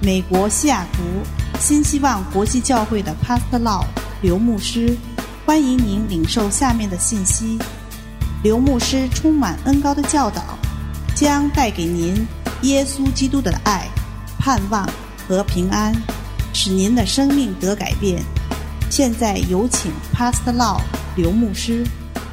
美国西雅图新希望国际教会的 Pastor Lau 刘牧师，欢迎您领受下面的信息。刘牧师充满恩膏的教导，将带给您耶稣基督的爱、盼望和平安，使您的生命得改变。现在有请 Pastor Lau 刘牧师。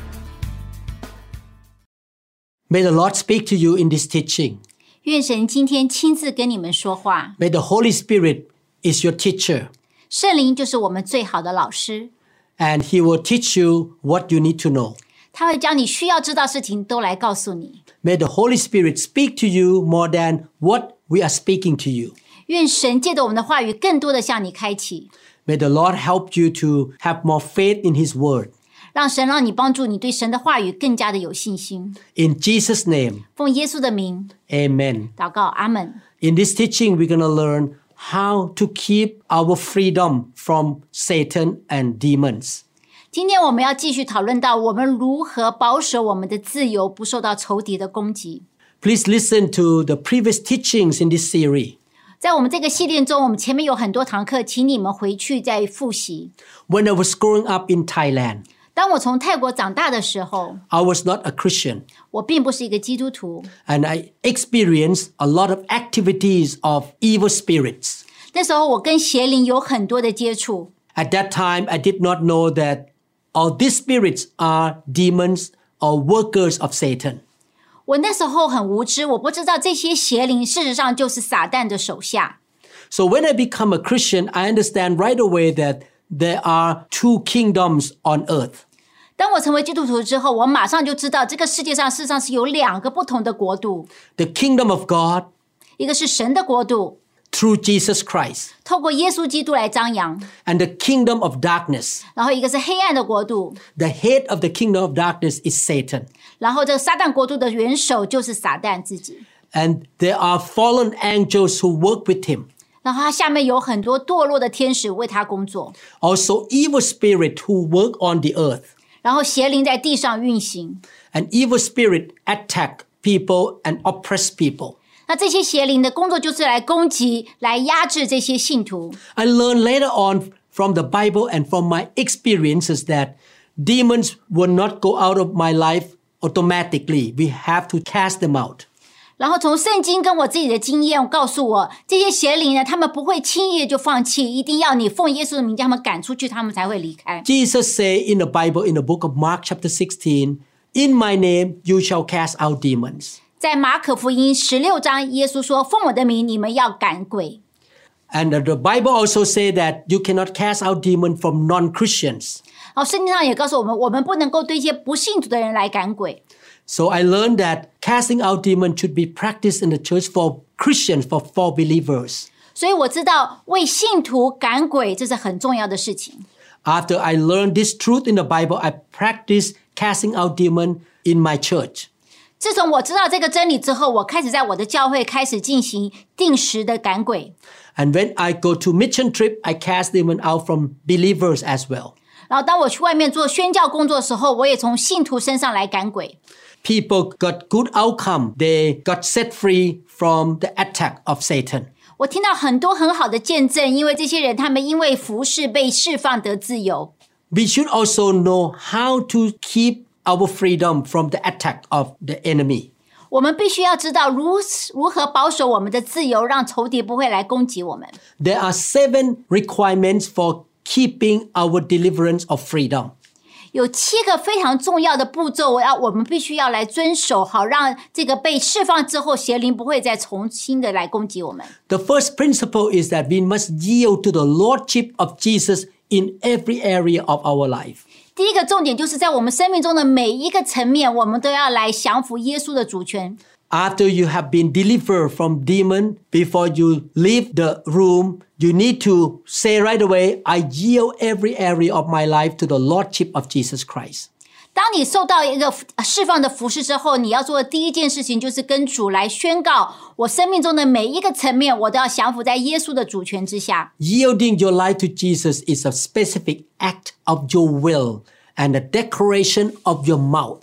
May the Lord speak to you in this teaching. 愿神今天亲自跟你们说话。 May the Holy Spirit is your teacher, 圣灵就是我们最好的老师， and He will teach you what you need to know. 他会将你需要知道事情都来告诉你。 May the Holy Spirit speak to you more than what we are speaking to you. 愿神借着我们的话语更多的向你开启， May the Lord help you to have more faith in His word. 让你帮助你对神的话语更加的有信心。 In Jesus' name, 奉耶稣的名 amen. 祷告，阿们。 In this teaching, we're going to learn how to keep our freedom from Satan and demons. 今天我们要继续讨论到我们如何保守我们的自由不受到仇敌的攻击。 Please listen to the previous teachings in this series. 在我们这个系列中，我们前面有很多堂课，请你们回去再复习。 When I was growing up in Thailand, 当我从泰国长大的时候， I was not a Christian, 我并不是一个基督徒， and I experienced a lot of activities of evil spirits. 那时候我跟邪灵有很多的接触。 At that time, I did not know that all these spirits are demons or workers of Satan. 我那时候很无知，我不知道这些邪灵事实上就是撒旦的手下。 So when I become a Christian, I understand right away that there are two kingdoms on earth. 当我成为基督徒之后，我马上就知道这个世界上事实上是有两个不同的国度， The kingdom of God 一个是神的国度， through Jesus Christ, 透过耶稣基督来张扬， and the kingdom of darkness. 然后一个是黑暗的国度， The head of the kingdom of darkness is Satan. 然后这个撒旦国度的元首就是撒旦自己， And there are fallen angels who work with him. 然后他下面有很多堕落的天使为他工作， Also evil spirit who work on the earth. 然后邪灵在地上运行。 And evil spirit attack people and oppress people. 那这些邪灵的工作就是来攻击、来压制这些信徒。 I learned later on from the Bible and from my experiences that demons will not go out of my life automatically. We have to cast them out. 然后从圣经跟我自己的经验告诉我，这些邪灵呢，他们不会轻易就放弃，一定要你奉耶稣的名将他们赶出去，他们才会离开。 Jesus said in the Bible, in the book of Mark chapter 16, "In my name you shall cast out demons." 在马可福音16章，耶稣说：“奉我的名，你们要赶鬼。” And the Bible also says that you cannot cast out demons from non-Christians. 然后圣经上也告诉我们，我们不能够对一些不信主的人来赶鬼。 So I learned that casting out demons should be practiced in the church for Christians, for believers. 所以我知道为信徒赶鬼这是很重要的事情。 After I learned this truth in the Bible, I practiced casting out demons in my church. 自从我知道这个真理之后，我开始在我的教会开始进行定时的赶鬼。 And when I go to mission trip, I cast demons out from believers as well. 然后当我去外面做宣教工作的时候，我也从信徒身上来赶鬼。 People got good outcome. They got set free from the attack of Satan. 我听到很多很好的见证，因为这些人他们因为服事被释放得自由。 We should also know how to keep our freedom from the attack of the enemy. 我们必须要知道如何保守我们的自由，让仇敌不会来攻击我们。 There are 7 requirements for keeping our deliverance of freedom. 有7个非常重要的步骤，我们必须要来遵守，好让这个被释放之后，邪灵不会再重新的来攻击我们。 The first principle is that we must yield to the lordship of Jesus in every area of our life. 第一个重点就是在我们生命中的每一个层面，我们都要来降服耶稣的主权。 After you have been delivered from demon, before you leave the room, you need to say right away, I yield every area of my life to the lordship of Jesus Christ. 当你受到一个释放的服事之后，你要做的第一件事情就是跟主来宣告，我生命中的每一个层面，我都要降服在耶稣的主权之下。 Yielding your life to Jesus is a specific act of your will and a declaration of your mouth.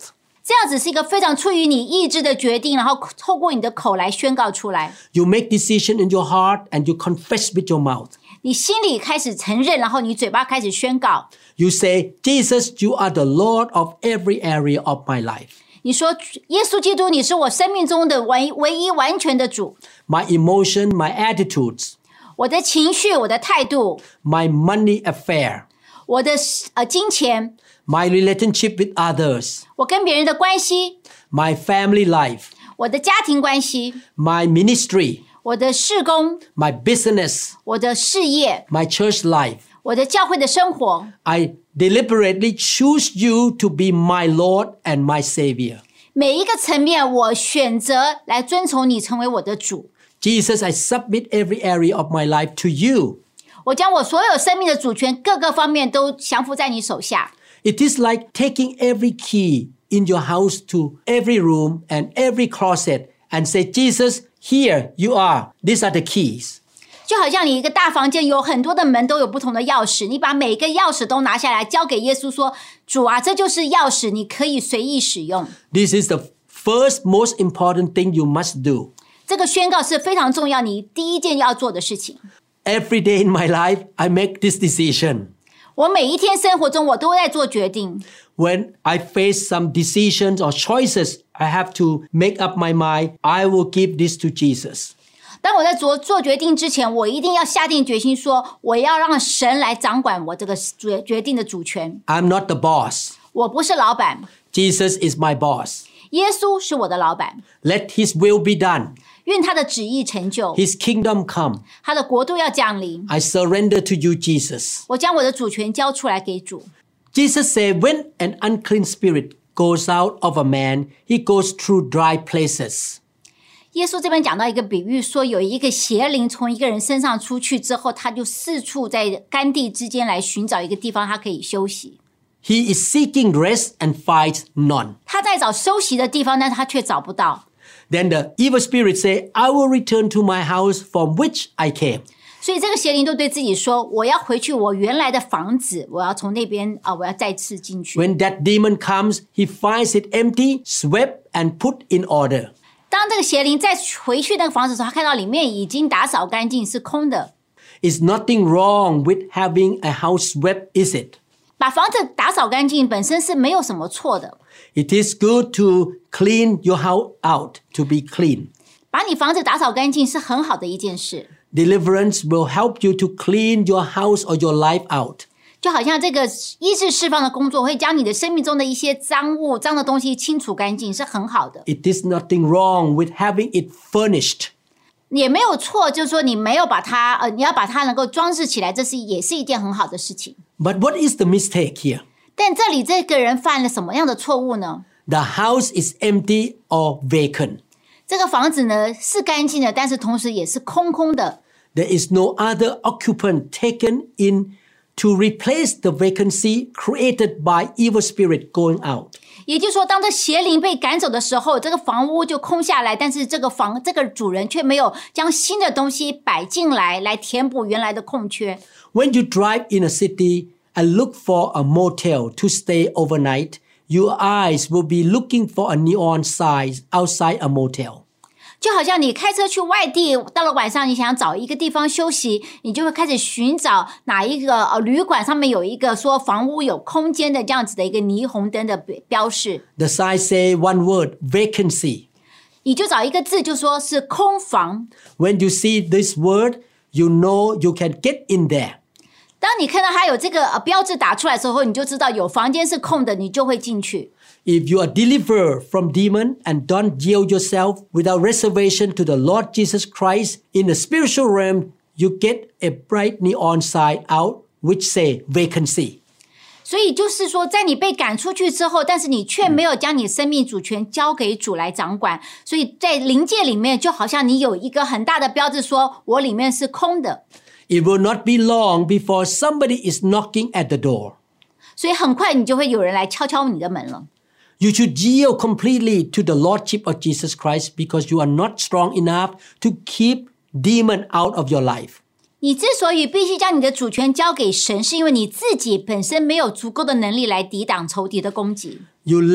这样子是一个非常出于你意志的决定，然后透过你的口来宣告出来。 You make decision in your heart and you confess with your mouth. 你心里开始承认，然后你嘴巴开始宣告。 You say, Jesus, you are the Lord of every area of my life. 你说耶稣基督，你是我生命中的唯一完全的主。 My emotion, my attitudes, 我的情绪，我的态度， my money affair, 我的金钱， my relationship with others, 我跟别人的关系， my family life, 我的家庭关系， my ministry, 我的事工， my business, 我的事业， my church life. 我的教会的生活。 I deliberately choose you to be my Lord and my Savior. 每一个层面，我选择来遵从你，成为我的主。 Jesus, I submit every area of my life to you. 我将我所有生命的主权各个方面都降服在你手下。 It is like taking every key in your house to every room and every closet and say, Jesus, here you are. These are the keys. 就好像你一个大房间有很多的门，都有不同的钥匙，你把每个钥匙都拿下来交给耶稣说，主啊，这就是钥匙，你可以随意使用。 This is the first most important thing you must do. 这个宣告是非常重要，你第一件要做的事情。 Every day in my life, I make this decision. 我每一天生活中，我都在做决定。 When I face some decisions or choices, I have to make up my mind. I will give this to Jesus. 当我在做决定之前，我一定要下定决心说，我要让神来掌管我这个决定的主权。 I'm not the boss. 我不是老板， Jesus is my boss. 耶稣是我的老板。 Let his will be done. 愿他的旨意成就， His kingdom come. 他的国度要降临。 I surrender to you, Jesus. 我将我的主权交出来给主。 Jesus said, when an unclean spirit goes out of a man, he goes through dry places. 耶稣这边讲到一个比喻，说有一个邪灵从一个人身上出去之后，他就四处在干地之间来寻找一个地方，他可以休息。 He is seeking rest and finds none. 他在找休息的地方，但是他却找不到。 Then the evil spirit say, I will return to my house from which I came. 所以这个邪灵就对自己说：“我要回去我原来的房子，我要从那边我要再次进去。” When that demon comes, he finds it empty, swept, and put in order. 当这个邪灵再回去那个房子的时候，他看到里面已经打扫干净，是空的。 It's nothing wrong with having a house swept, is it? 把房子打扫干净本身是没有什么错的。 It is good to clean your house out, to be clean. 把你房子打扫干净是很好的一件事。 Deliverance will help you to clean your house or your life out. 就好像这个医治释放的工作会将你的生命中的一些脏物、脏的东西清除干净，是很好的。 It is nothing wrong with having it furnished. 也没有错，就是说你没有把它你要把它能够装饰起来，这也是一件很好的事情。 But what is the mistake here? 但这里这个人犯了什么样的错误呢？ The house is empty or vacant. 这个房子呢是干净的，但是同时也是空空的。 There is no other occupant taken in to replace the vacancy created by evil spirit going out. 也就是说，当这邪灵被赶走的时候，这个房屋就空下来，但是这个主人却没有将新的东西摆进来填补原来的空缺。 When you drive in a city and look for a motel to stay overnight, your eyes will be looking for a neon sign outside a motel. 就好像你开车去外地，到了晚上你想找一个地方休息，你就会开始寻找哪一个旅馆上面有一个说房屋有空间的这样子的一个霓虹灯的标示。 The sign say one word, vacancy. 你就找一个字，就说是空房。 When you see this word, you know you can get in there. 当你看到它有这个标志打出来的时候，你就知道有房间是空的，你就会进去。 If you are delivered from demon and don't yield yourself without reservation to the Lord Jesus Christ in the spiritual realm, you get a bright neon sign out which say vacancy. 所以就是说，在你被赶出去之后，但是你却没有将你生命主权交给主来掌管，所以在灵界里面，就好像你有一个很大的标志说，我里面是空的。 It will not be long before somebody is knocking at the door. 所以很快你就会有人来敲敲你的门了。 You should yield completely to the Lordship of Jesus Christ because you are not strong enough to keep demon out of your life. 你之所以必须将你的主权交给神，是因为你自己本身没有足够的能力来抵挡仇敌的攻击。 You let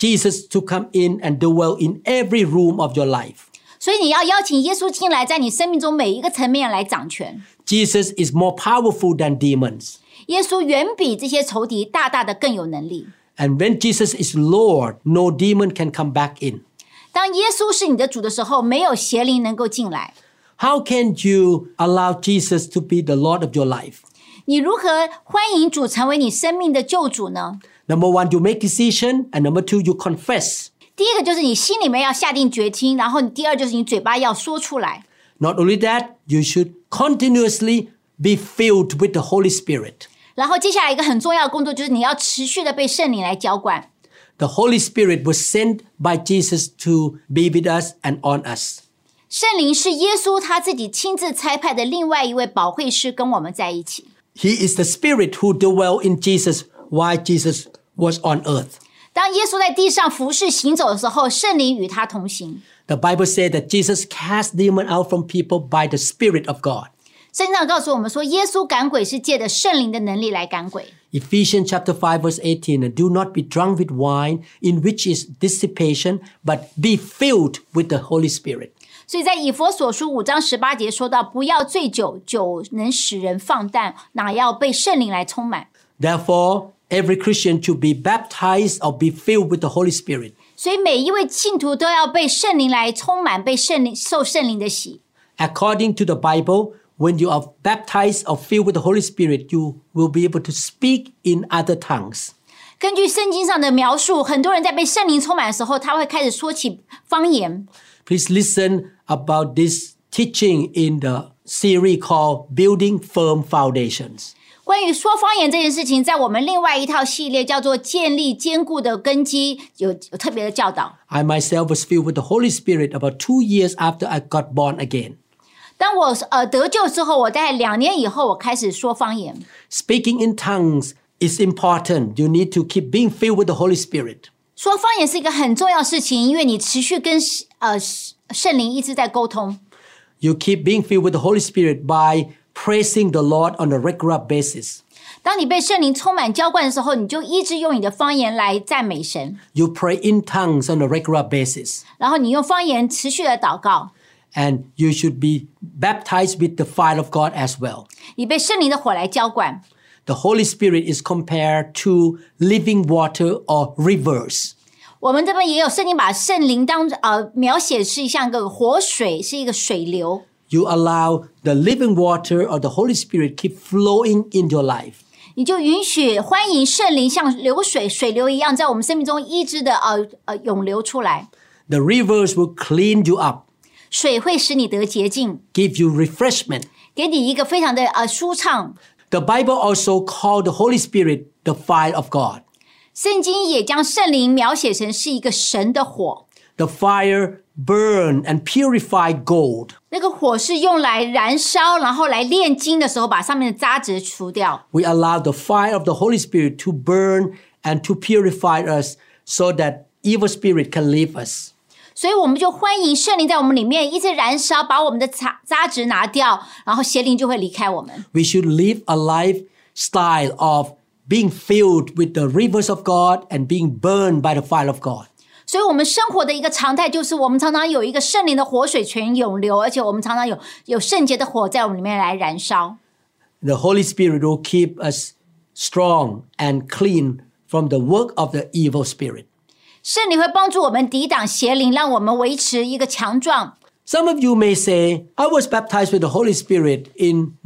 Jesus to come in and dwell in every room of your life. 所以你要邀请耶稣进来，在你生命中每一个层面来掌权。 Jesus is more powerful than demons. 耶稣远比这些仇敌大大的更有能力。 And when Jesus is Lord, no demon can come back in. 当耶稣是你的主的时候，没有邪灵能够进来。 How can you allow Jesus to be the Lord of your life? 你如何欢迎主成为你生命的救主呢？ Number one, you make decision. And number two, you confess. 第一个就是你心里面要下定决心，然后第二就是你嘴巴要说出来。 Not only that, you should continuously be filled with the Holy Spirit. 然后接下来一个很重要的工作就是你要持续的被圣灵来浇灌。 The Holy Spirit was sent by Jesus to be with us and on us. 圣灵是耶稣他自己亲自差派的另外一位保惠师跟我们在一起。 He is the Spirit who dwelt in Jesus while Jesus was on earth. 当耶稣在地上服侍行走的时候，圣灵与他同行。 The Bible said that Jesus cast demons out from people by the Spirit of God. 圣经上告诉我们说，耶稣赶鬼是借着圣灵的能力来赶鬼。 Ephesians chapter 5 verse 18, and do not be drunk with wine, in which is dissipation, but be filled with the Holy Spirit. 所以在以弗所书5章18节说到，不要醉酒，酒能使人放荡，哪要被圣灵来充满。 Therefore, every Christian should be baptized or be filled with the Holy Spirit. 所以每一位信徒都要被圣灵来充满，被圣灵受圣灵的洗。 According to the Bible, when you are baptized or filled with the Holy Spirit, you will be able to speak in other tongues. 根据圣经上的描述，很多人在被圣灵充满的时候，他会开始说起方言。 Please listen about this teaching in the series called Building Firm Foundations. 关于说方言这件事情，在我们另外一套系列叫做建立坚固的根基，有特别的教导。 I myself was filled with the Holy Spirit about 2 years after I got born again. 当我得救之后，我大概2年以后，我开始说方言。 Speaking in tongues is important. You need to keep being filled with the Holy Spirit. 说方言是一个很重要的事情，因为你持续跟圣灵一直在沟通。 You keep being filled with the Holy Spirit by praising the Lord on a regular basis. 当你被圣灵充满浇灌的时候，你就一直用你的方言来赞美神。 You pray in tongues on a regular basis. 然后你用方言持续的祷告。 And you should be baptized with the fire of God as well. 你被圣灵的火来浇灌。 The Holy Spirit is compared to living water or rivers. 我们这边也有圣经把圣灵描写是像个活水，是一个水流。 You allow the living water or the Holy Spirit keep flowing in your life. 你就允许欢迎圣灵像流水、水流一样，在我们生命中一直的涌流出来。 The rivers will clean you up. 水会使你得洁净， Give you refreshment. 给你一个非常的舒畅。 The Bible also called the Holy Spirit the fire of God. 圣经也将圣灵描写成是一个神的火。 The fire burn and purify gold. 那个火是用来燃烧，然后来炼金的时候，把上面的渣质除掉。 We allow the fire of the Holy Spirit to burn and to purify us so that evil spirit can leave us. 所以我们就欢迎圣灵在我们里面一直燃烧，把我们的渣质拿掉，然后邪灵就会离开我们。 We should live a lifestyle of being filled with the rivers of God and being burned by the fire of God. 所以我们生活的一个常态就是我们常常有一个圣灵的活水泉涌流，而且我们常常有圣洁的火在我们里面来燃烧。 The Holy Spirit will keep us strong and clean from the work of the evil spirit. 圣灵会帮助我们抵挡邪灵，让我们维持一个强壮。 Some of you may say, I was baptized with the Holy Spirit in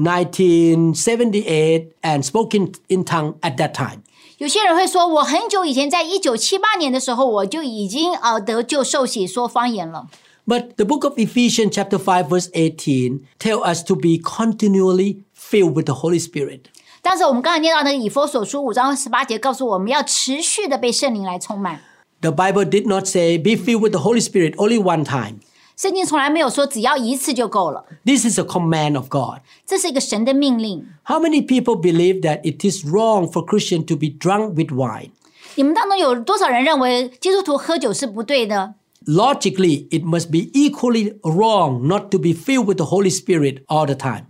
1978 and spoke in tongue at that time. 有些人会说，我很久以前在1978年的时候，我就已经得救受洗说方言了。 But the book of Ephesians chapter 5 verse 18 tell us to be continually filled with the Holy Spirit. 但是我们刚才念到那个以弗所书5章18节告诉我们要持续的被圣灵来充满。 The Bible did not say be filled with the Holy Spirit only one time. 圣经从来没有说只要一次就够了。 This is a command of God. 这是一个神的命令。 How many people believe that it is wrong for Christians to be drunk with wine? 你们当中有多少人认为基督徒喝酒是不对的？ Logically, it must be equally wrong not to be filled with the Holy Spirit all the time.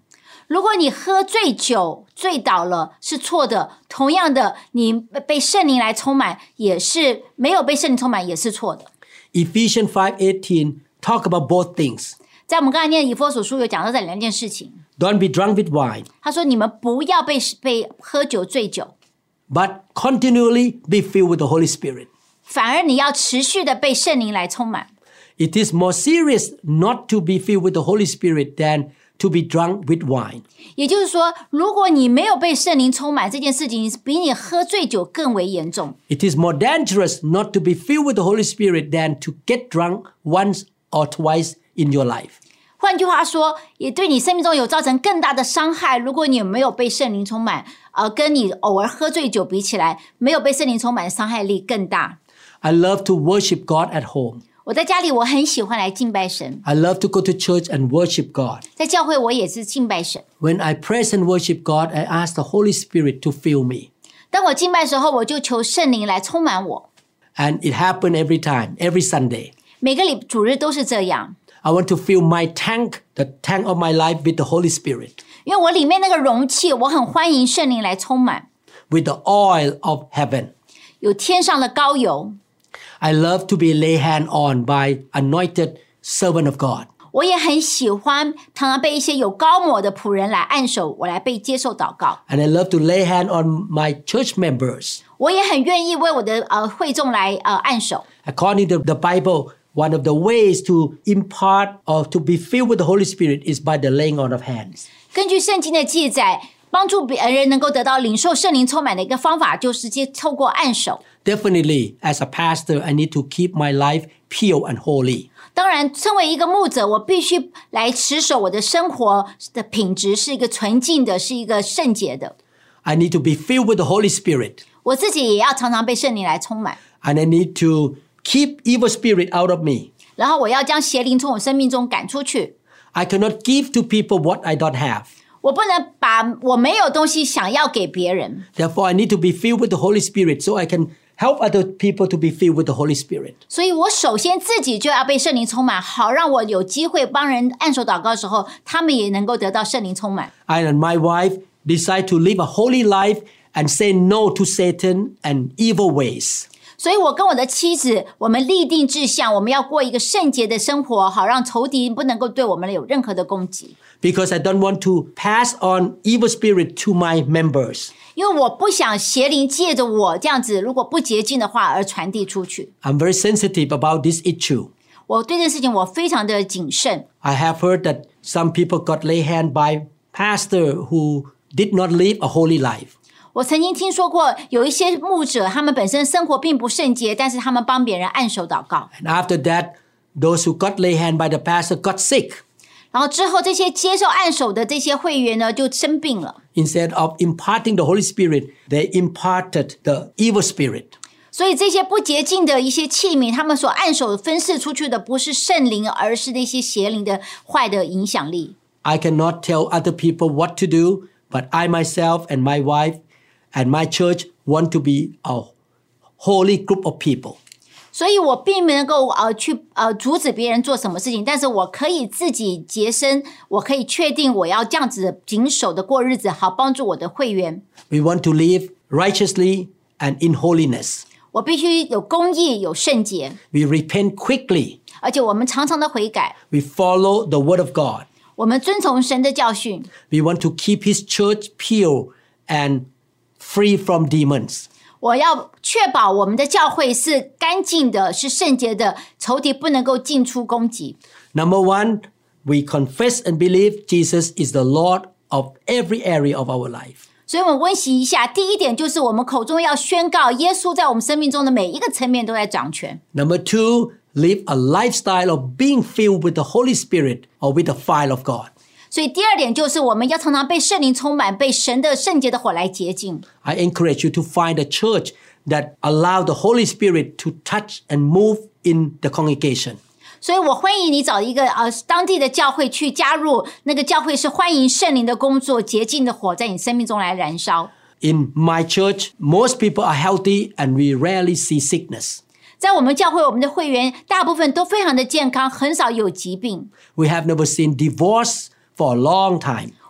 如果你喝醉酒醉倒了是错的，同样的你被圣灵来充满也是没有被圣灵充满也是错的。 Ephesians 5:18 talk about both things. 在我们刚才念以弗所书有讲到这两件事情。 Don't be drunk with wine, 他说你们不要被喝酒醉酒， but continually be filled with the Holy Spirit. 反而你要持续的被圣灵来充满。 It is more serious not to be filled with the Holy Spirit than to be drunk with wine. 也就是说，如果你没有被圣灵充满，这件事情比你喝醉酒更为严重。 It is more dangerous not to be filled with the Holy Spirit than to get drunk once or twice in your life. 换句话说，也对你生命中有造成更大的伤害。如果你没有被圣灵充满，跟你偶尔喝醉酒比起来，没有被圣灵充满的伤害力更大。 I love to worship God at home. 我在家里我很喜欢来敬拜神， I love to go to church and worship God. 在教会我也是敬拜神。 When I praise and worship God, I ask the Holy Spirit to fill me. 当我敬拜的时候，我就求圣灵来充满我。 And it happened every time, every Sunday. 每个主日都是这样， I want to fill my tank, the tank of my life, with the Holy Spirit, 因为我里面那个容器，我很欢迎圣灵来充满， with the oil of heaven. 有天上的膏油。 I love to be laid hand on by anointed servant of God. 我也很喜欢常常被一些有膏抹的仆人来按手，我来被接受祷告。 And I love to lay hand on my church members. 我也很愿意为我的会众来按手。 According to the Bible, one of the ways to impart or to be filled with the Holy Spirit is by the laying on of hands. 根据圣经的记载，帮助别人能够得到领受圣灵充满的一个方法，就是透过按手。 Definitely, as a pastor, I need to keep my life pure and holy. 当然，身为一个牧者，我必须来持守我的生活的品质是一个纯净的，是一个圣洁的。 I need to be filled with the Holy Spirit. 我自己也要常常被圣灵来充满， And I need to keep evil spirit out of me. 然后我要将邪灵从我生命中赶出去。 I cannot give to people what I don't have. 我不能把我没有东西想要给别人， Therefore, I need to be filled with the Holy Spirit so I can help other people to be filled with the Holy Spirit. 所以我首先自己就要被圣灵充满，好让我有机会帮人按手祷告的时候，他们也能够得到圣灵充满。 I and my wife decide to live a holy life and say no to Satan and evil ways. 所以我跟我的妻子，我们立定志向，我们要过一个圣洁的生活，好让仇敌不能够对我们有任何的攻击。 Because I don't want to pass on evil spirit to my members. 因为我不想邪灵借着我这样子，如果不洁净的话而传递出去。 I'm very sensitive about this issue. 我对这件事情我非常的谨慎。 I have heard that some people got laid hand by pastor who did not live a holy life. 我曾经听说过有一些牧者，他们本身生活并不圣洁，但是他们帮别人按手祷告。 And after that, those who got laid hand by the pastor got sick. 然后之后这些接受按手的这些会员呢，就生病了。 Instead of imparting the Holy Spirit, they imparted the evil spirit. 所以这些不洁净的一些器皿，他们所按手分释出去的不是圣灵，而是那些邪灵的坏的影响力。 I cannot tell other people what to do, but I myself and my wife and my church want to be a holy group of people. 所以我并没能够去阻止别人做什么事情，但是我可以自己洁身，我可以确定我要这样子谨守的过日子，好帮助我的会员。 We want to live righteously and in holiness. 我必须有公义，有圣洁， We repent quickly. 而且我们常常的悔改， We follow the word of God. 我们遵从神的教训。 We want to keep his church pure and free from demons. 我要确保我们的教会是干净的，是圣洁的，仇敌不能够进出攻击。 Number one, we confess and believe Jesus is the Lord of every area of our life. 所以我们温习一下，第一点就是我们口中要宣告，耶稣在我们生命中的每一个层面都在掌权。 Number two, live a lifestyle of being filled with the Holy Spirit or with the fire of God. 所以第二点就是我们要常常被圣灵充满，被神的圣洁的火来洁净。 I encourage you to find a church that allow the Holy Spirit to touch and move in the congregation. 所以我欢迎你找一个当地的教会去加入，那个教会是欢迎圣灵的工作，洁净的火在你生命中来燃烧。 In my church, most people are healthy and we rarely see sickness. 在我们教会，我们的会员大部分都非常的健康，很少有疾病。 We have never seen divorce for a long time.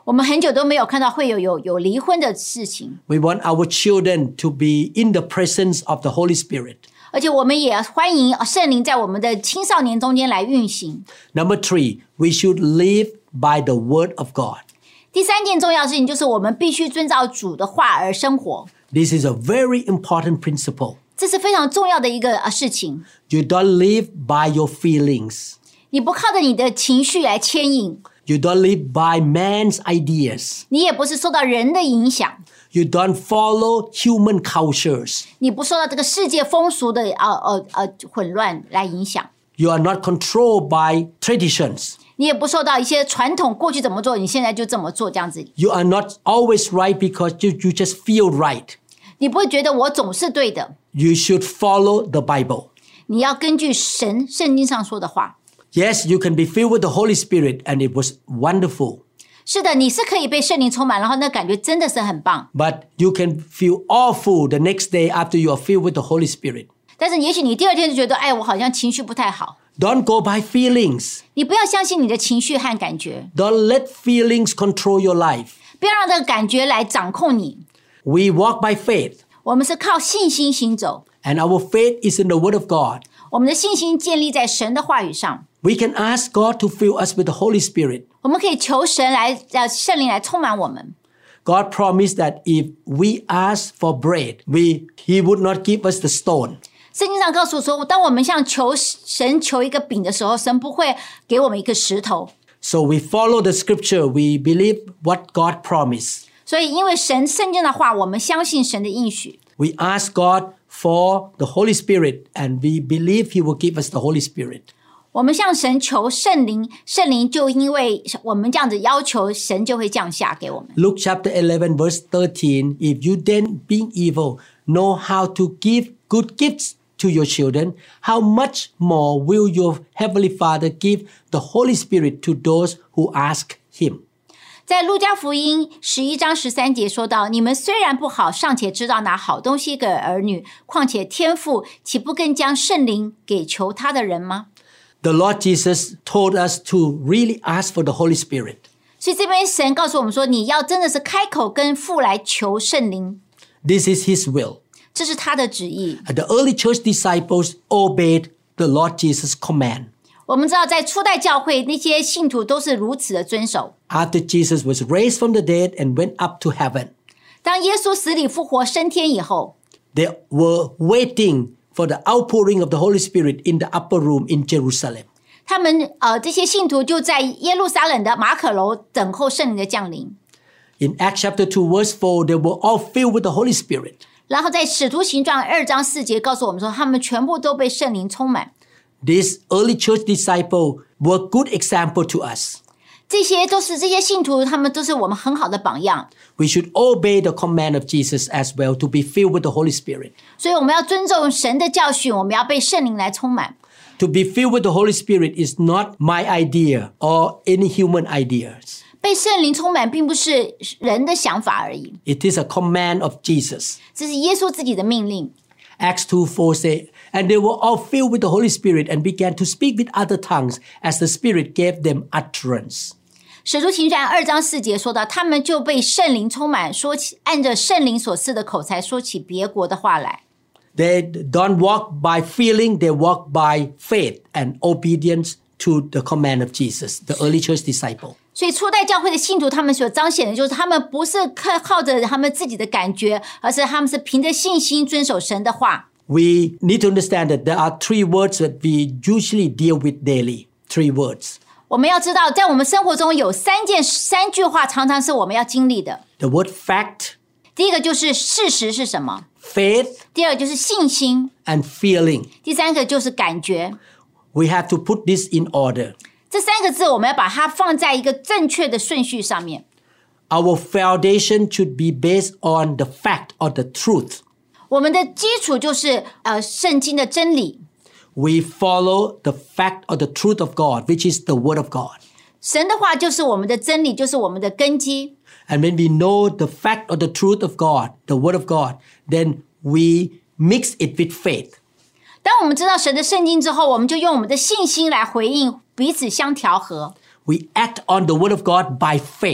我们很久都没有看到会有离婚的事情， We want our children to be in the presence of the Holy Spirit. 而且我们也欢迎圣灵在我们的青少年中间来运行。 Number 3, we should live by the word of God. 第三件重要的事情就是我们必须遵照主的话而生活， This is a very important principle. 这是非常重要的一个事情。 You don't live by your feelings. 你不靠着你的情绪来牵引， You don't live by man's ideas. 你也不是受到人的影响， You don't follow human cultures. 你不受到这个世界风俗的混乱来影响， You are not controlled by traditions. 你也不受到一些传统过去怎么做，你现在就这么做这样子。 You are not always right because you just feel right. 你不会觉得我总是对的， You should follow the Bible. 你要根据圣经上说的话。 Yes, you can be filled with the Holy Spirit, and it was wonderful. 是的，你是可以被圣灵充满，然后那感觉真的是很棒。 But you can feel awful the next day after you are filled with the Holy Spirit. 但是也许你第二天就觉得，哎，我好像情绪不太好。 Don't go by feelings. 你不要相信你的情绪和感觉， Don't let feelings control your life. 不要让这个感觉来掌控你。 We walk by faith, 我们是靠信心行走， and our faith is in the Word of God. 我们的信心建立在神的话语上。 We can ask God to fill us with the Holy Spirit. 我们可以求神来圣灵来充满我们。 God promised that if we ask for bread, He would not give us the stone. 圣经上告诉说，当我们向神求一个饼的时候，神不会给我们一个石头。 So we follow the scripture. We believe what God promised. 所以因为圣经的话，我们相信神的应许。 We ask God for the Holy Spirit, and we believe He will give us the Holy Spirit. 我们向神求圣灵，圣灵就因为我们这样子要求，神就会降下给我们。 Luke chapter 11 verse 13, if you then being evil know how to give good gifts to your children, how much more will your heavenly Father give the Holy Spirit to those who ask Him? 在路加福音11章13节说到，你们虽然不好，尚且知道拿好东西给儿女，况且天父岂不更将圣灵给求他的人吗？ The Lord Jesus told us to really ask for the Holy Spirit. 所以这边神告诉我们说，你要真的是开口跟父来求圣灵， This is His will. 这是他的旨意。 The early church disciples obeyed the Lord Jesus' command. 我们知道在初代教会那些信徒都是如此的遵守。 After Jesus was raised from the dead and went up to heaven, 当耶稣死里复活升天以后， they were waiting for the outpouring of the Holy Spirit in the upper room in Jerusalem. 他们这些信徒就在耶路撒冷的马可楼等候圣灵的降临。 In Acts chapter 2 verse 4, they were all filled with the Holy Spirit. 然后在使徒行传2章4节告诉我们说，他们全部都被圣灵充满。 These early church disciples were good example to us. 这些信徒，他们都是我们很好的榜样。 We should obey the command of Jesus as well to be filled with the Holy Spirit. 所以我们要尊重神的教训，我们要被圣灵来充满。 To be filled with the Holy Spirit is not my idea or any human ideas. 被圣灵充满并不是人的想法而已， It is a command of Jesus. 这是耶稣自己的命令。 Acts 2:4 say, and they were all filled with the Holy Spirit and began to speak with other tongues as the Spirit gave them utterance. 使徒行传2章4节说到，他们就被圣灵充满，说起按着圣灵所赐的口才说起别国的话来。 They don't walk by feeling, they walk by faith and obedience to the command of Jesus, the early church disciple. 所以初代教会的信徒，他们所彰显的就是他们不是靠着他们自己的感觉，而是他们是凭着信心遵守神的话。 We need to understand that there are 3 words that we usually deal with daily. 3 words. 我们要知道，在我们生活中有3句话，常常是我们要经历的。 The word fact, 第一个就是事实是什么， faith, 第二个就是信心， and feeling. 第三个就是感觉。 We have to put this in order. 这3个字，我们要把它放在一个正确的顺序上面。 Our foundation should be based on the fact or the truth. 我们的基础就是圣经的真理。 We follow the fact or the truth of God, which is the Word of God. 神的话就是我们的真理，就是我们的根基。 And when we know the fact or the truth of God, the Word of God, then we mix it with faith. 当我们知道神的圣经之后，我们就用我们的信心来回应，彼此相调和。 We act on the Word of God by faith.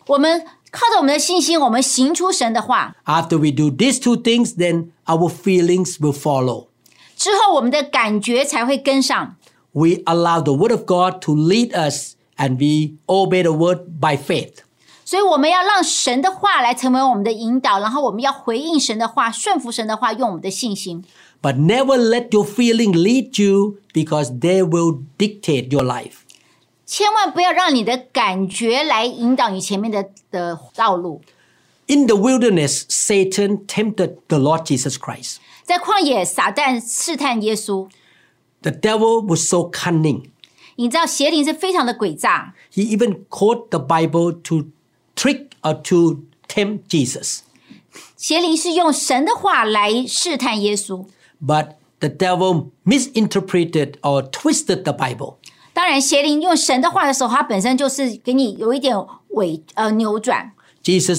我们靠着我们的信心，我们行出神的话。 After we do these two things, then our feelings will follow. 之后我们的感觉才会跟上。 We allow the word of God to lead us and we obey the word by faith. 所以我们要让神的话来成为我们的引导，然后我们要回应神的话，顺服神的话，用我们的信心。 But never let your feeling lead you because they will dictate your life. 千万不要让你的感觉来引导你前面的道路。 In the wilderness, Satan tempted the Lord Jesus Christ. 在旷野，撒旦试探耶稣。 The devil was so cunning. 你知道邪灵是非常的诡诈， He even quoted the Bible to trick or to tempt Jesus. 邪灵是用神的话来试探耶稣。 But the devil misinterpreted or twisted the Bible. 当然，邪灵用神的话的时候，它本身就是给你有一点扭转。 Jesus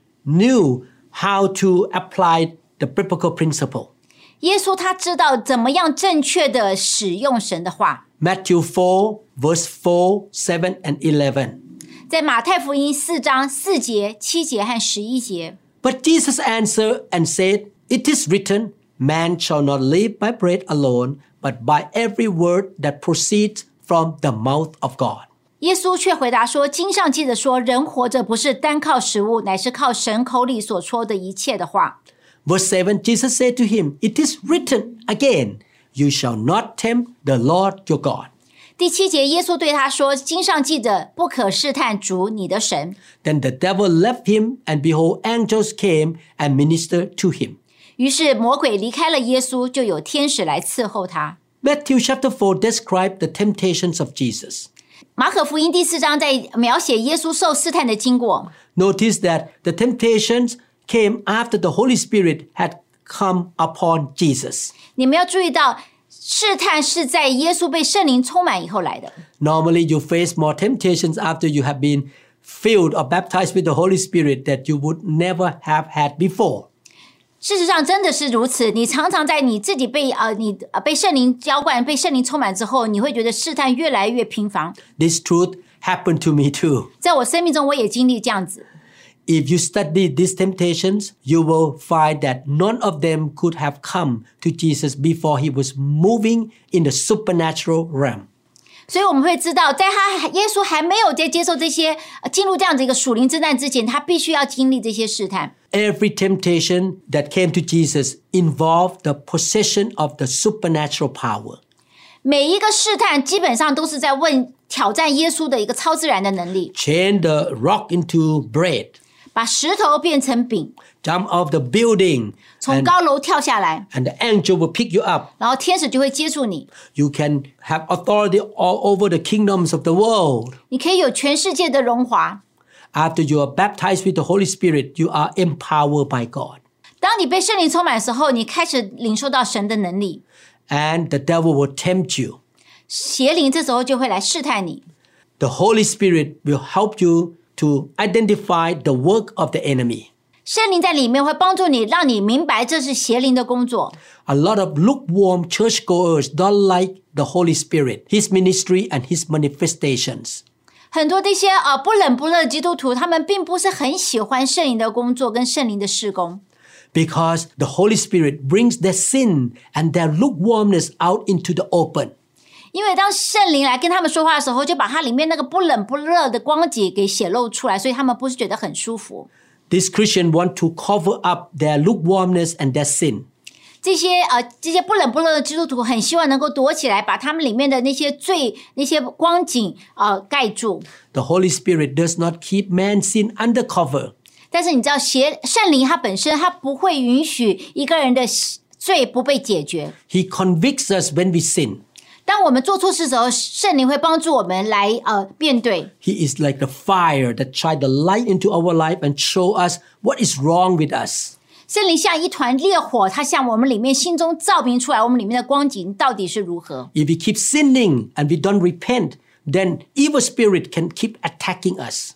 knew how to apply the biblical principle. 耶稣他知道怎么样正确的使用神的话。 Matthew 4, verse 4, 7, and 11. 在马太福音4章4节、7节和11节。 But Jesus answered and said, It is written, Man shall not live by bread alone, but by every word that proceeds from the mouth of God. 耶稣却回答说：“经上记着说，人活着不是单靠食物，乃是靠神口里所说的一切的话。” Verse 7, Jesus said to him, It is written again, You shall not tempt the Lord your God. 第7节，耶稣对他说：“经上记着，不可试探主你的神。” Then the devil left him, and behold, angels came and ministered to him. 于是魔鬼离开了耶稣，就有天使来伺候他。 Matthew chapter 4 described the temptations of Jesus. 马可福音第4章在描写耶稣受试探的经过。 Notice that the temptations came after the Holy Spirit had come upon Jesus. 你们要注意到，试探是在耶稣被圣灵充满以后来的。 Normally, you face more temptations after you have been filled or baptized with the Holy Spirit that you would never have had before. 事实上真的是如此，你常常在你自己被圣灵浇灌、被圣灵充满之后，你会觉得试探越来越频繁。 This truth happened to me too. 在我生命中，我也经历这样子。 If you study these temptations, you will find that none of them could have come to Jesus before he was moving in the supernatural realm. 所以我们会知道，在耶稣还没有在接受这些进入这样子一个属灵之战之前，他必须要经历这些试探。 Every temptation that came to Jesus involved the possession of the supernatural power. 每一个试探基本上都是在挑战耶稣的一个超自然的能力， Change the rock into bread. 把石头变成饼， Jump off the building 从高楼跳下来， and the angel will pick you up. 然后天使就会接住你。 You can have authority all over the kingdoms of the world. 你可以有全世界的荣华。 After you are baptized with the Holy Spirit, you are empowered by God. 当你被圣灵充满的时候，你开始领受到神的能力， And the devil will tempt you. 邪灵这时候就会来试探你。 The Holy Spirit will help you to identify the work of the enemy. 圣灵在里面会帮助你，让你明白这是邪灵的工作。 A lot of lukewarm churchgoers don't like the Holy Spirit, His ministry, and His manifestations. 很多这些不冷不热的基督徒，他们并不是很喜欢圣灵的工作跟圣灵的事工， Because the Holy Spirit brings their sin and their lukewarmness out into the open. 因为当圣灵来跟他们说话的时候，就把它里面那个不冷不热的光景给显露出来，所以他们不是觉得很舒服。 These Christians want to cover up their lukewarmness and their sin. 这些不冷不热的基督徒很希望能够躲起来，把他们里面的那些罪、那些光景盖住。 The Holy Spirit does not keep man's sin under cover. 但是你知道，圣灵它本身它不会允许一个人的罪不被解决。 He convicts us when we sin. 当我们做错事的时候，圣灵会帮助我们来面对。 He is like the fire that shines the light into our life and show us what is wrong with us. 圣灵像一团烈火，它向我们里面心中照明出来，我们里面的光景到底是如何。 If we keep sinning and we don't repent, then evil spirit can keep attacking us.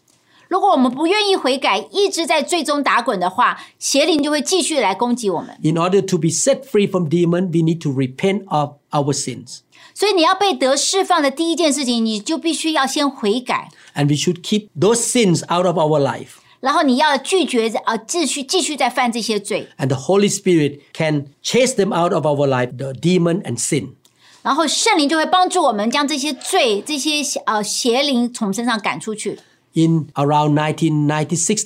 如果我们不愿意悔改，一直在最终打滚的话，邪灵就会继续来攻击我们。 In order to be set free from demon, we need to repent of our sins. 所以你要被得释放的第一件事情，你就必须要先悔改， And we should keep those sins out of our life. 然后你要拒绝继续再犯这些罪， And the Holy Spirit can chase them out of our life, the demon and sin. 然后圣灵就会帮助我们将这些罪、这些邪灵从身上赶出去。 In around 1996,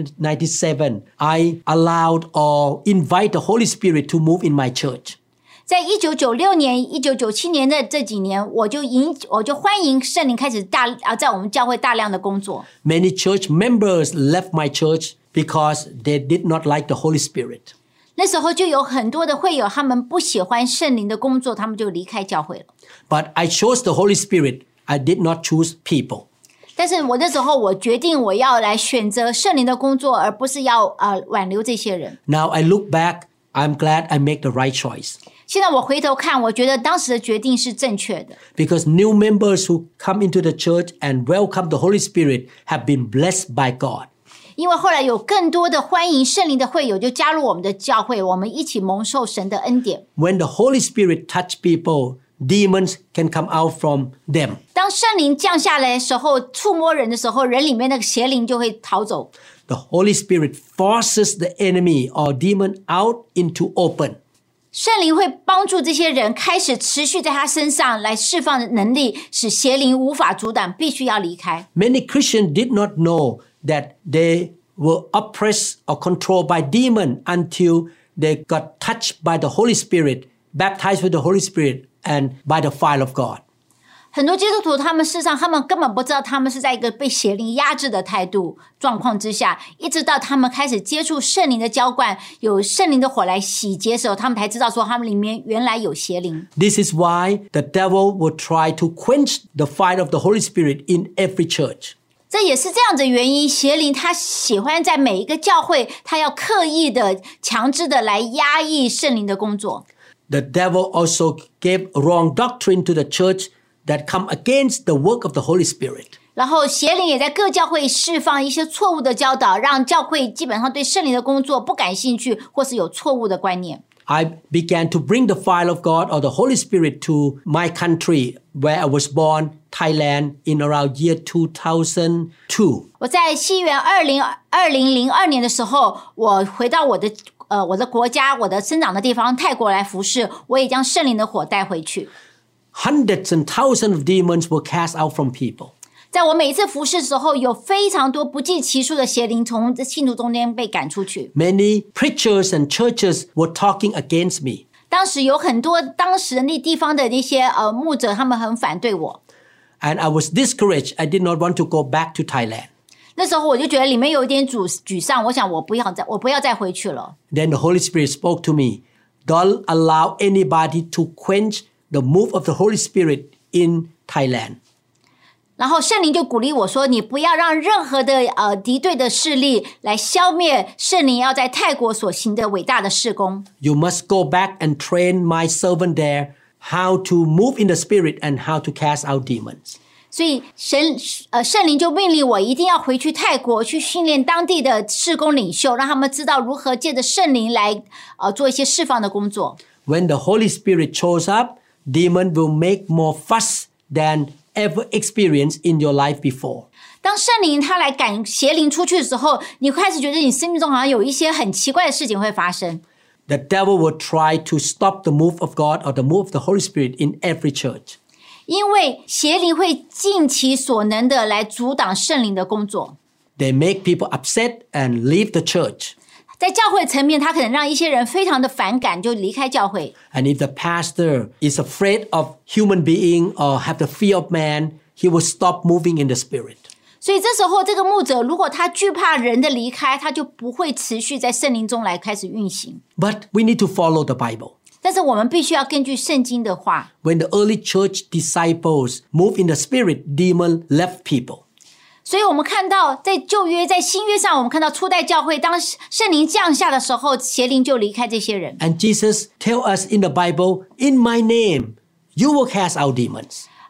1997, I allowed or invite the Holy Spirit to move in my church. 在1996年、1997年的这几年，我就欢迎圣灵开始在我们教会大量的工作。 Many church members left my church because they did not like the Holy Spirit. 那时候就有很多的会友，他们不喜欢圣灵的工作，他们就离开教会了。 But I chose the Holy Spirit. I did not choose people. 但是我那时候我决定我要来选择圣灵的工作，而不是要挽留这些人。 Now I look back, I'm glad I made the right choice. 现在我回头看，我觉得当时的决定是正确的。 Because new members who come into the church and welcome the Holy Spirit have been blessed by God. 因为后来有更多的欢迎圣灵的会友就加入我们的教会，我们一起蒙受神的恩典。 When the Holy Spirit touch people, demons can come out from them. 当圣灵降下来的时候，触摸人的时候，人里面那个邪灵就会逃走。 The Holy Spirit forces the enemy or demon out into open. 圣灵会帮助这些人开始持续在他身上来释放的能力，使邪灵无法阻挡，必须要离开。 Many Christians did not know that they were oppressed or controlled by demon until they got touched by the Holy Spirit, baptized with the Holy Spirit, and by the fire of God. 很多基督徒他们事实上他们根本不知道他们是在一个被邪灵压制的态度状况之下，一直到他们开始接触圣灵的浇灌，有圣灵的火来洗劫的时候，他们才知道说他们里面原来有邪灵。 This is why the devil will try to quench the fire of the Holy Spirit in every church. 这也是这样的原因，邪灵他喜欢在每一个教会，他要刻意的、强制的来压抑圣灵的工作。 The devil also gave wrong doctrine to the church that come against the work of the Holy Spirit. 然后邪灵也在各教会释放一些错误的教导，让教会基本上对圣灵的工作不感兴趣，或是有错误的观念。 I began to bring the fire of God or the Holy Spirit to my country where I was born, Thailand, in around year 2002. 我在西元2002年的时候，我回到我的国家，我的生长的地方泰国来服侍，我也将圣灵的火带回去。 Hundreds and thousands of demons were cast out from people. 在我每一次服侍的时候，有非常多不计其数的邪灵从信徒中间被赶出去。 Many preachers and churches were talking against me. 当时有很多当时的那地方的那些牧者，他们很反对我。 And I was discouraged. I did not want to go back to Thailand. 那时候我就觉得里面有一点沮丧，我想我不要再回去了。 Then the Holy Spirit spoke to me. Don't allow anybody to quench the move of the Holy Spirit in Thailand. 然后圣灵就鼓励我说：“你不要让任何的敌对的势力来消灭圣灵要在泰国所行的伟大的事工。 You must go back and train my servant there how to move in the Spirit and how to cast out demons. ” 所以圣灵就命令我一定要回去泰国去训练当地的事工领袖，让他们知道如何借着圣灵来做一些释放的工作。 When the Holy Spirit shows up, demon will make more fuss than ever experienced in your life before. 当圣灵他来赶邪灵出去的时候，你开始觉得你生命中好像有一些很奇怪的事情会发生。 The devil will try to stop the move of God or the move of the Holy Spirit in every church. 因为邪灵会尽其所能的来阻挡圣灵的工作。 They make people upset and leave the church. 在教会层面，他可能让一些人非常的反感，就离开教会。 And if the pastor is afraid of human being or have the fear of man, he will stop moving in the Spirit. 所以这时候，这个牧者如果他惧怕人的离开，他就不会持续在圣灵中来开始运行。 But we need to follow the Bible. 但是我们必须要根据圣经的话。 When the early church disciples moved in the Spirit, demon left people. 所以我们看到在旧约在新约上，我们看到初代教会当圣灵降下的时候，邪灵就离开这些人。 And Jesus tell us in the Bible, in my name, you will cast out demons.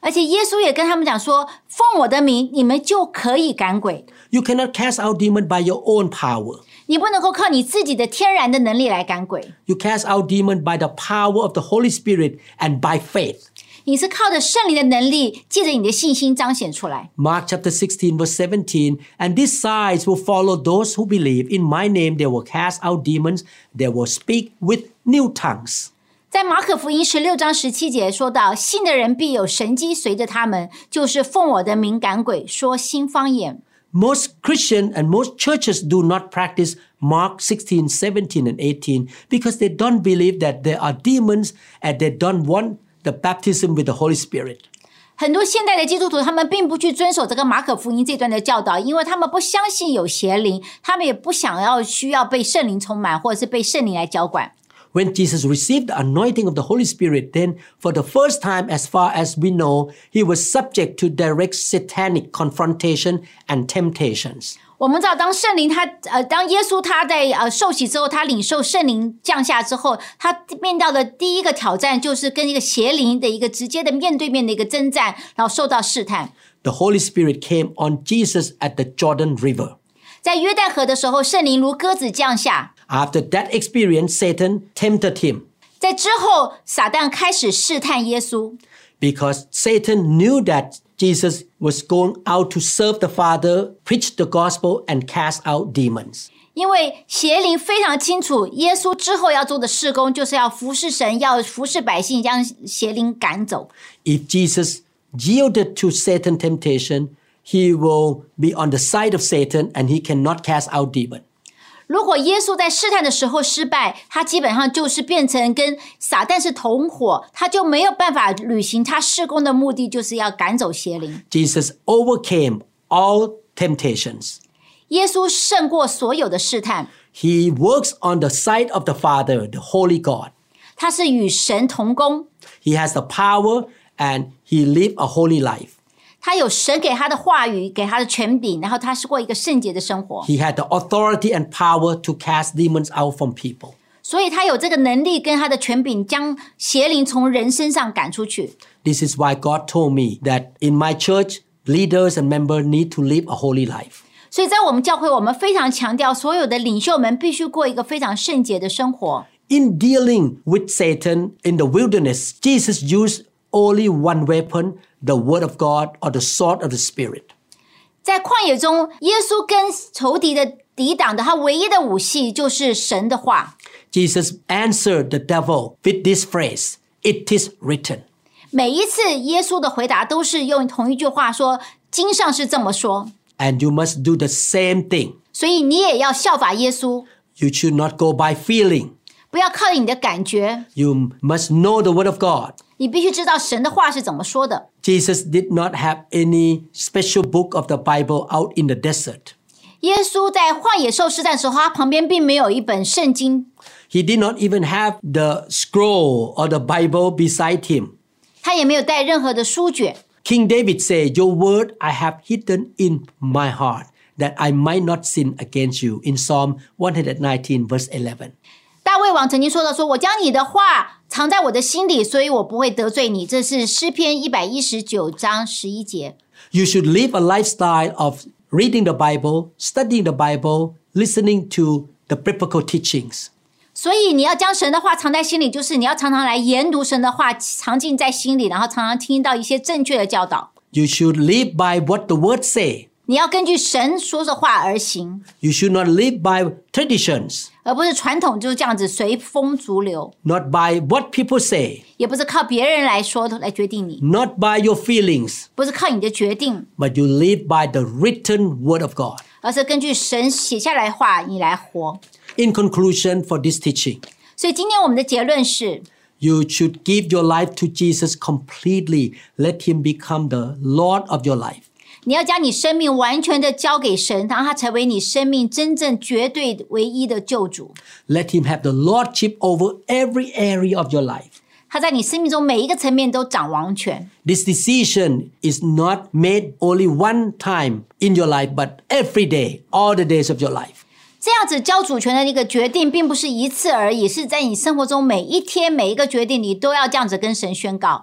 而且耶稣也跟他们讲说，奉我的名你们就可以赶鬼。 You cannot cast out demon by your own power. 你不能够靠你自己的天然的能力来赶鬼， You cast out demon by the power of the Holy Spirit and by faith. 你是靠着圣灵的能力，借着你的信心彰显出来。 Mark chapter 16 verse 17, and these signs will follow those who believe. In my name they will cast out demons, they will speak with new tongues. 在马可福音16章17节说到，信的人必有神迹随着他们，就是奉我的名赶鬼，说新方言。 Most Christians and most churches do not practice Mark 16, 17, and 18 because they don't believe that there are demons and they don't want the baptism with the Holy Spirit. 很多现代的基督徒，他们并不去遵守这个马可福音这段的教导，因为他们不相信有邪灵，他们也不想要需要被圣灵充满，或者是被圣灵来浇灌。 When Jesus received the anointing of the Holy Spirit, then for the first time, as far as we know, he was subject to direct satanic confrontation and temptations. 我们知道，当耶稣他在受洗之后，他领受圣灵降下之后，他面到的第一个挑战就是跟一个邪灵的一个直接的面对面的一个征战，然后受到试探。 The Holy Spirit came on Jesus at the Jordan River. 在约旦河的时候，圣灵如鸽子降下。 After that experience, Satan tempted him 在之后，撒旦开始试探耶稣， because Satan knew that Jesus was going out to serve the Father, preach the gospel, and cast out demons. 因为邪灵非常清楚，耶稣之后要做的事工就是要服侍神，要服侍百姓，将邪灵赶走。 If Jesus yielded to Satan's temptation, he will be on the side of Satan and he cannot cast out demons. 如果耶稣在试探的时候失败，他基本上就是变成跟撒旦是同伙，他就没有办法履行他事工的目的，就是要赶走邪灵。 Jesus overcame all temptations. 耶稣胜过所有的试探， He works on the side of the Father, the Holy God. 他是与神同工， He has the power and he lived a holy life. 他有神给他的话语，给他的权柄，然后他是过一个圣洁的生活， He had the authority and power to cast demons out from people. 所以他有这个能力跟他的权柄，将邪灵从人身上赶出去。 This is why God told me that in my church, leaders and members need to live a holy life. 所以在我们教会，我们非常强调，所有的领袖们必须过一个非常圣洁的生活。 In dealing with Satan in the wilderness, Jesus used only one weapon, the word of God or the sword of the Spirit. 在旷野中，耶稣跟仇敌的抵挡的，他唯一的武器就是神的话。 Jesus answered the devil with this phrase, "It is written." 每一次耶稣的回答都是用同一句话说：“经上是这么说。” And you must do the same thing. 所以你也要效法耶稣， You should not go by feeling. 不要靠你的感觉， You must know the word of God. 你必须知道神的话是怎么说的。 Jesus did not have any special book of the Bible out in the desert. 耶稣在旷野受试探的时候，他旁边并没有一本圣经， He did not even have the scroll or the Bible beside him. 他也没有带任何的书卷。 King David said, "Your word I have hidden in my heart, that I might not sin against you." In Psalm 119, verse 11. 大卫王曾经说到说：“我将你的话藏在我的心里，所以我不会得罪你。”这是诗篇119章11节。 You should live a lifestyle of reading the Bible, studying the Bible, listening to the biblical teachings. 所以你要将神的话藏在心里，就是你要常常来研读神的话，藏进在心里，然后常常听到一些正确的教导。 You should live by what the word say. 你要根据神说的话而行， You should not live by traditions, 而不是传统就是这样子随风逐流， not by what people say, 也不是靠别人来说来决定你， not by your feelings, 不是靠你的决定， but you live by the written word of God. 而是根据神写下来的话你来活。 In conclusion for this teaching, 所以今天我们的结论是， you should give your life to Jesus completely. Let him become the Lord of your life. 你要将你生命完全的交给神，让他成为你生命真正绝对唯一的救主。 Let him have the lordship over every area of your life. 他在你生命中每一个层面都掌王权。 This decision is not made only one time in your life, but every day, all the days of your life. 这样子交主权的一个决定，并不是一次而已，是在你生活中每一天每一个决定，你都要这样子跟神宣告。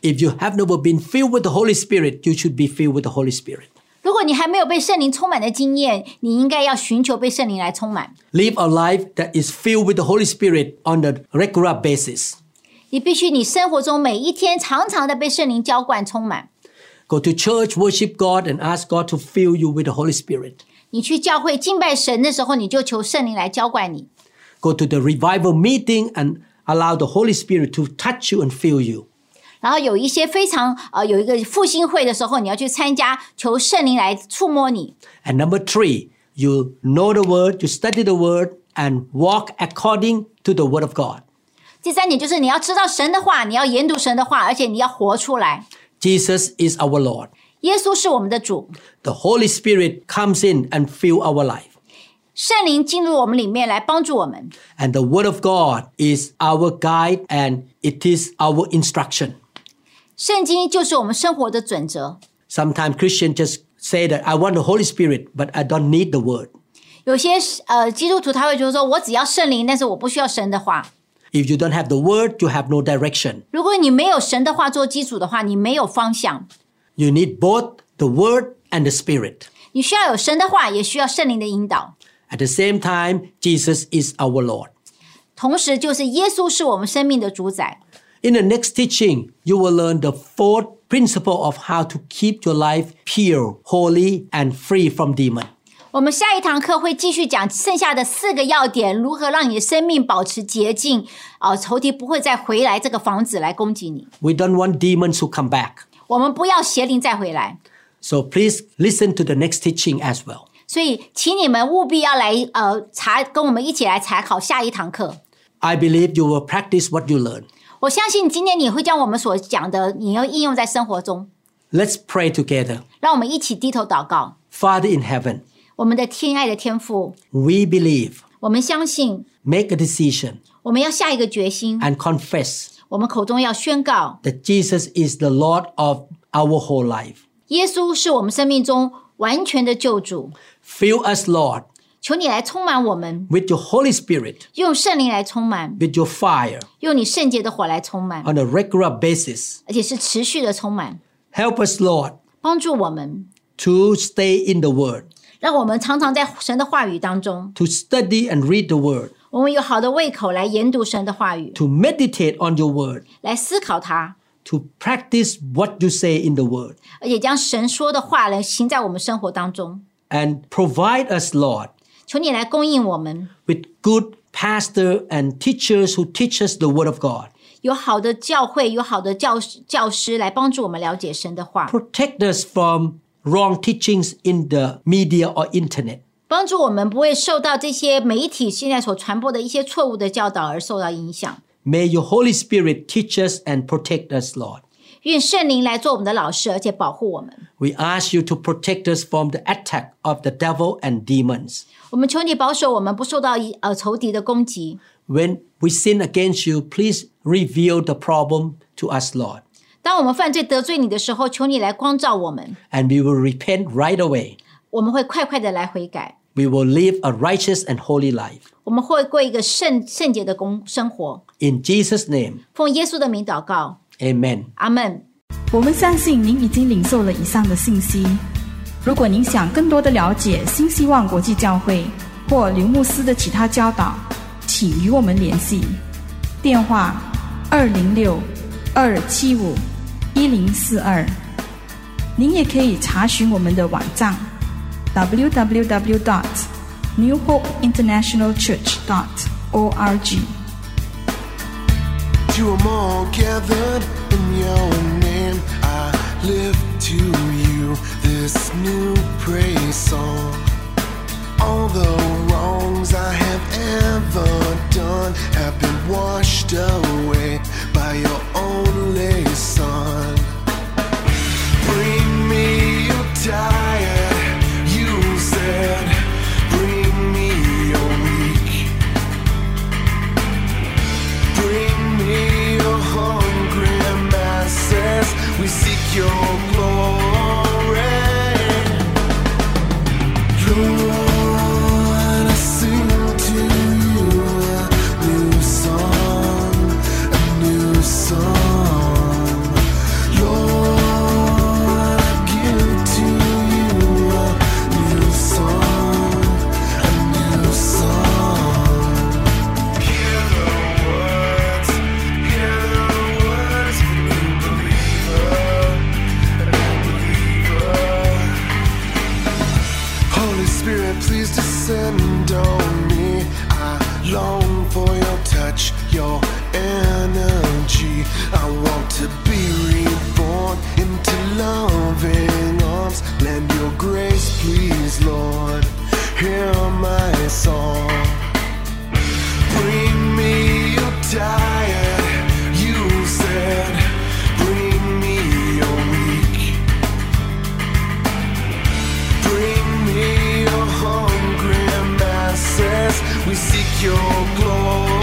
If you have never been filled with the Holy Spirit, you should be filled with the Holy Spirit. 如果你还没有被圣灵充满的经验，你应该要寻求被圣灵来充满。 Live a life that is filled with the Holy Spirit on a regular basis. 你必须你生活中每一天常常的被圣灵浇灌充满。 Go to church, worship God, and ask God to fill you with the Holy Spirit. 你去教会敬拜神的时候，你就求圣灵来浇灌你。 Go to the revival meeting and allow the Holy Spirit to touch you and fill you. 然后有一些非常有一个复兴会的时候，你要去参加，求圣灵来触摸你。 And number 3, you know the Word, you study the Word, and walk according to the Word of God. 第3点就是你要知道神的话，你要研读神的话，而且你要活出来。 Jesus is our Lord. 耶稣是我们的主， The Holy Spirit comes in and fill our life. 圣灵进入我们里面来帮助我们。 And the Word of God is our guide and it is our instruction. 圣经就是我们生活的准则。 Sometimes Christians just say that I want the Holy Spirit, but I don't need the Word. 有些基督徒他会觉得说，我只要圣灵，但是我不需要神的话。 If you don't have the Word, you have no direction. 如果你没有神的话做基础的话，你没有方向。 You need both the Word and the Spirit. 你需要有神的话，也需要圣灵的引导。 At the same time, Jesus is our Lord. 同时，就是耶稣是我们生命的主宰。 In the next teaching, you will learn the 4th principle of how to keep your life pure, holy, and free from demons. 我们下一堂课会继续讲剩下的4个要点，如何让你的生命保持洁净，仇敌不会再回来这个房子来攻击你。 We don't want demons to come back. 我们不要邪灵再回来， So please listen to the next teaching as well. 所以请你们务必要来跟我们一起来查考下一堂课。 I believe you will practice what you learn. 我相信今天你会将我们所讲的，你要应用在生活中。 Let's pray together. 让我们一起低头祷告。 Father in heaven, 我们的天爱的天父， we believe, 我们相信， make a decision, 我们要下一个决心， and confess 我们口中要宣告， that Jesus is the Lord of our whole life. 耶稣是我们生命中完全的救主。 Fill us, Lord, 求你来充满我们， with your Holy Spirit, 用圣灵来充满， with your fire 用你圣洁的火来充满， on a regular basis. 而且是持续的充满， Help us, Lord, 帮助我们， to stay in the Word, 让我们常常在神的话语当中， to study and read the Word, 我们有好的胃口来研读神的话语， to meditate on your Word, 来思考它， to practice what you say in the Word, 而且将神说的话来行在我们生活当中。 and provide us, Lord, 求你来供应我们， with good pastor and teachers who teach us the Word of God. 有好的教会，有好的教师来帮助我们了解神的话， Protect us from wrong teachings in the media or internet. 帮助我们不会受到这些媒体现在所传播的一些错误的教导而受到影响。 May your Holy Spirit teach us and protect us, Lord. 愿圣灵来做我们的老师，而且保护我们。 We ask you to protect us from the attack of the devil and demons. 我们求你保守我们不受到仇敌的攻击。 When we sin against you, please reveal the problem to us, Lord. 当我们犯罪得罪你的时候，求你来光照我们， And we will repent right away. 我们会快快的来悔改， We will live a righteous and holy life. 我们会过一个圣洁的生活。 In Jesus' name, 奉耶稣的名祷告， amen. 阿们。 我们相信您已经领受了以上的信息。如果您想更多的了解新希望国际教会或刘牧师的其他教导，请与我们联系。电话206-275-1042。您也可以查询我们的网站 www.newhopeinternationalchurch.org。 To 'em all gathered in your name, I lift to you this new praise song. All the wrongs I have ever done have been washed away by your only Son. Bring me your tired, you said. Bring me your weak. Bring me your hungry masses. We seek your glory. Lord, I sing to you a new song, a new song. descend on me. I long for your touch, your energy. I want to be reborn into loving arms. Lend your grace, please, Lord. Hear my song. Bring me your tired, you said. Bring me your weak. Bring me your hungry masses. We seek your glory.